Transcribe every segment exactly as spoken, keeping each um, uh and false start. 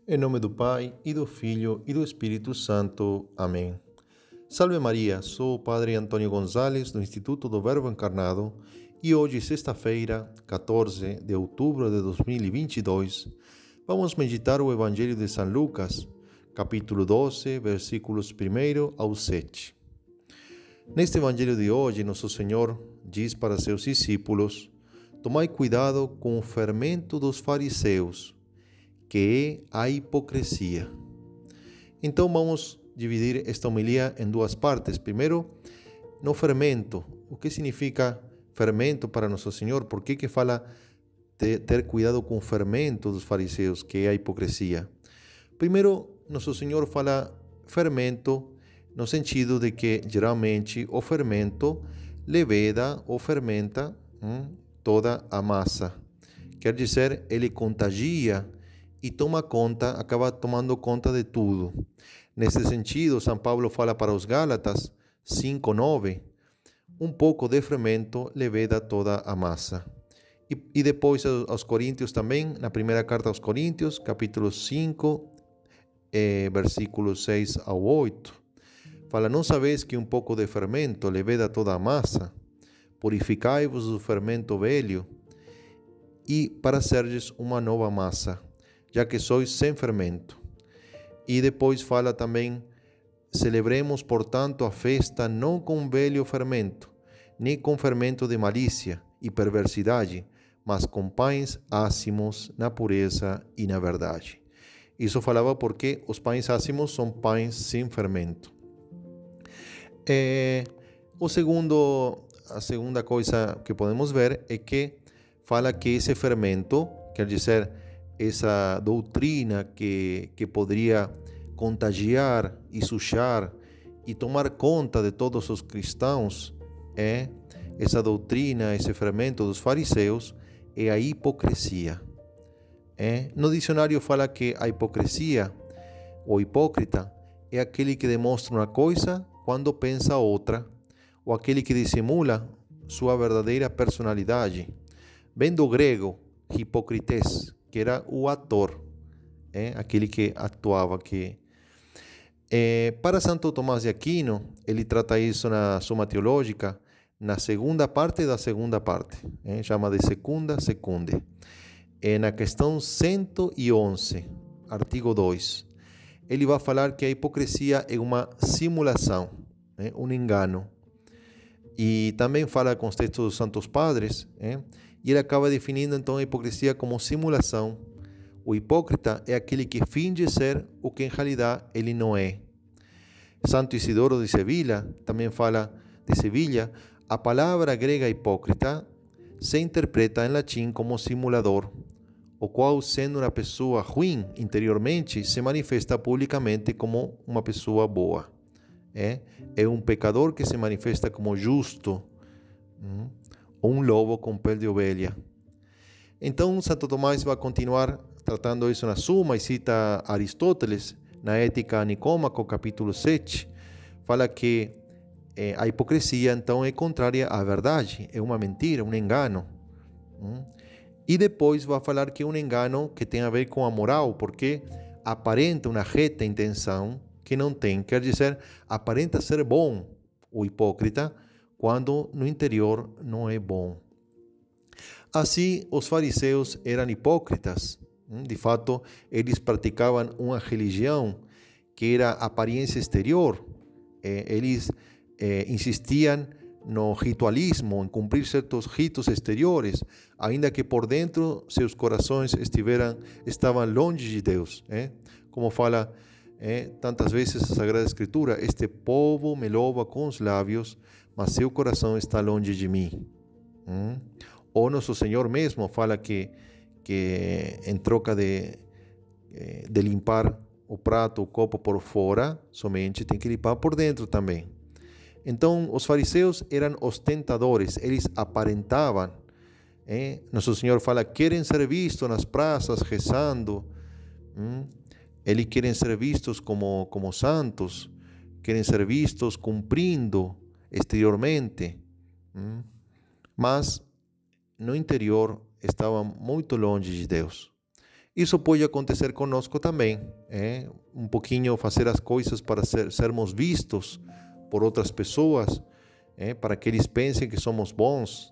Em nome do Pai, e do Filho, e do Espírito Santo. Amém. Salve Maria, sou o Padre Antônio Gonzalez, do Instituto do Verbo Encarnado, e hoje, sexta-feira, quatorze de outubro de dois mil e vinte e dois, vamos meditar o Evangelho de São Lucas, capítulo doze, versículos um ao sete. Neste Evangelho de hoje, Nosso Senhor diz para seus discípulos: tomai cuidado com o fermento dos fariseus, que é a hipocrisia. Então vamos dividir esta homilia em duas partes. Primeiro, no fermento. O que significa fermento para Nosso Senhor? Por que que fala de ter cuidado com o fermento dos fariseus, que é a hipocrisia? Primeiro, Nosso Senhor fala fermento no sentido de que, geralmente, o fermento leveda ou fermenta hum, toda a massa. Quer dizer, ele contagia e toma conta, acaba tomando conta de tudo. Nesse sentido, São Paulo fala para os Gálatas cinco, nove, um pouco de fermento leveda toda a massa. E, e depois aos Coríntios também, na primeira carta aos Coríntios, capítulo cinco, eh, versículos seis ao oito, fala: não sabeis que um pouco de fermento leveda toda a massa? Purificai-vos do fermento velho, e para serdes uma nova massa, já que sois sem fermento. E depois fala também: celebremos, portanto, a festa não com velho fermento, nem com fermento de malícia e perversidade, mas com pães ácimos na pureza e na verdade. Isso falava porque os pães ácimos são pães sem fermento. É, o segundo, a segunda coisa que podemos ver é que fala que esse fermento, quer dizer, essa doutrina que, que poderia contagiar e sujar e tomar conta de todos os cristãos, é essa doutrina, esse fermento dos fariseus, é a hipocrisia. É? No dicionário fala que a hipocrisia, ou hipócrita, é aquele que demonstra uma coisa quando pensa outra, ou aquele que dissimula sua verdadeira personalidade. Vem do grego, hipócrites, que era o ator, é? Aquele que atuava. Que, é, para Santo Tomás de Aquino, ele trata isso na Suma Teológica, na segunda parte da segunda parte, é? Chama de secunda secunde. É na questão cento e onze, artigo dois. Ele vai falar que a hipocrisia é uma simulação, é? Um engano. E também fala com os textos dos Santos Padres, é? E ele acaba definindo então a hipocrisia como simulação. O hipócrita é aquele que finge ser o que em realidade ele não é. Santo Isidoro de Sevilha também fala de Sevilha: a palavra grega hipócrita se interpreta em latim como simulador, o qual, sendo uma pessoa ruim interiormente, se manifesta publicamente como uma pessoa boa. É, é um pecador que se manifesta como justo, hum, ou um lobo com pele de ovelha. Então, Santo Tomás vai continuar tratando isso na Suma e cita Aristóteles, na Ética a Nicômaco, capítulo sete, fala que eh, a hipocrisia, então, é contrária à verdade, é uma mentira, um engano. Hum. E depois vai falar que é um engano que tem a ver com a moral, porque aparenta uma reta intenção que não tem. Quer dizer, aparenta ser bom o hipócrita, quando no interior não é bom. Assim, os fariseus eram hipócritas. De fato, eles praticavam uma religião que era aparência exterior. Eles eh, insistiam no ritualismo, em cumprir certos ritos exteriores, ainda que por dentro seus corações estiveram, estavam longe de Deus. Eh? Como fala eh, tantas vezes a Sagrada Escritura: este povo me louva com os lábios, mas seu coração está longe de mim. Hum? Ou Nosso Senhor mesmo fala que, que em troca de, de limpar o prato, o copo por fora, somente tem que limpar por dentro também. Então, os fariseus eram ostentadores, eles aparentavam. Eh? Nosso Senhor fala: querem ser vistos nas praças rezando, hum? Eles querem ser vistos como, como santos, querem ser vistos cumprindo exteriormente, hum? Mas no interior estavam muito longe de Deus. Isso pode acontecer conosco também, é? Um pouquinho fazer as coisas para ser, sermos vistos por outras pessoas, é? Para que eles pensem que somos bons.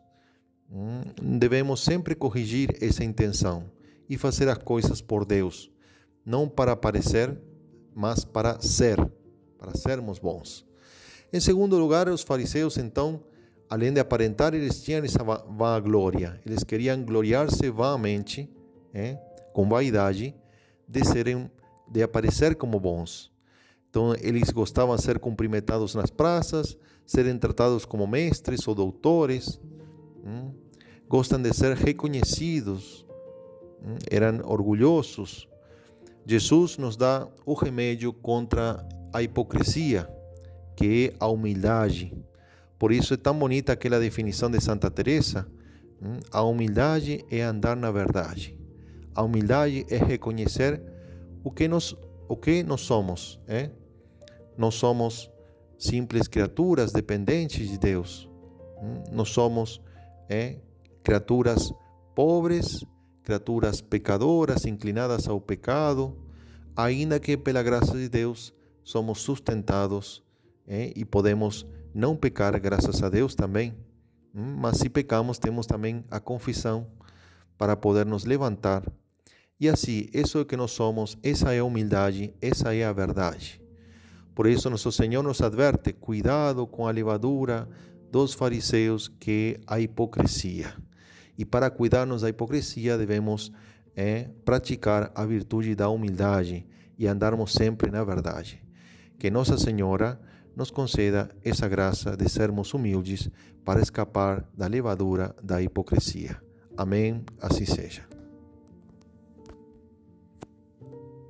Hum, devemos sempre corrigir essa intenção e fazer as coisas por Deus, não para parecer, mas para ser, para sermos bons. Em segundo lugar, os fariseus, então, além de aparentar, eles tinham essa vanglória. Eles queriam gloriar-se vãmente, é? Com vaidade, de serem, de aparecer como bons. Então, eles gostavam de ser cumprimentados nas praças, serem tratados como mestres ou doutores, hum? Gostam de ser reconhecidos, hum? Eram orgulhosos. Jesus nos dá o remédio contra a hipocrisia, que é a humildade. Por isso é tão bonita aquela definição de Santa Teresa. Hum? A humildade é andar na verdade. A humildade é reconhecer o que nós, o que nós somos. É? Nós somos simples criaturas dependentes de Deus. Nós somos é, criaturas pobres, criaturas pecadoras, inclinadas ao pecado, ainda que pela graça de Deus somos sustentados é, e podemos não pecar graças a Deus também. Mas se pecamos, temos também a confissão para poder nos levantar. E assim, isso é o que nós somos, essa é a humildade, essa é a verdade. Por isso, nosso Senhor nos adverte, cuidado com a levadura dos fariseus, que é a hipocrisia. E para cuidarmos da hipocrisia, devemos é, praticar a virtude da humildade e andarmos sempre na verdade. Que Nossa Senhora nos conceda essa graça de sermos humildes para escapar da levadura da hipocrisia. Amém. Assim seja.